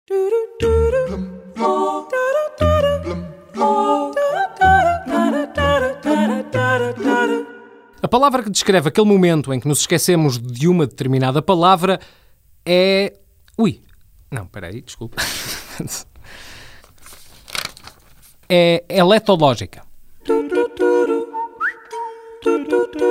A palavra que descreve aquele momento em que nos esquecemos de uma determinada palavra é... desculpa. É letológica.